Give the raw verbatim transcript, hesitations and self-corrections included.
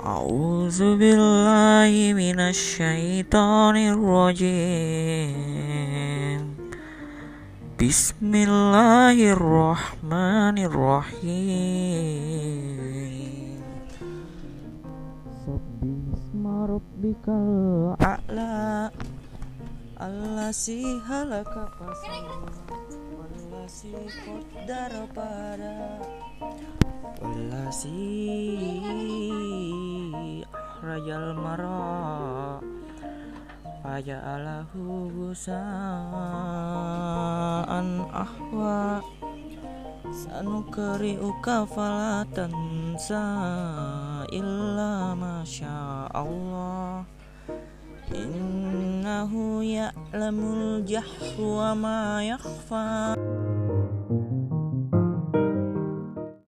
A'udzu billahi minasy syaithanir rajim. Bismillahirrahmanirrahim. Sabbihisma rabbikal a'la allazii khalaqa fasawwa wallazii qaddara fahada wallazii akhrajal mar'a faja'alahu gusaan ahwa sanukri'uka fala tansa illa masya Allah innahu ya'lamul jahra wa ma yakhfa.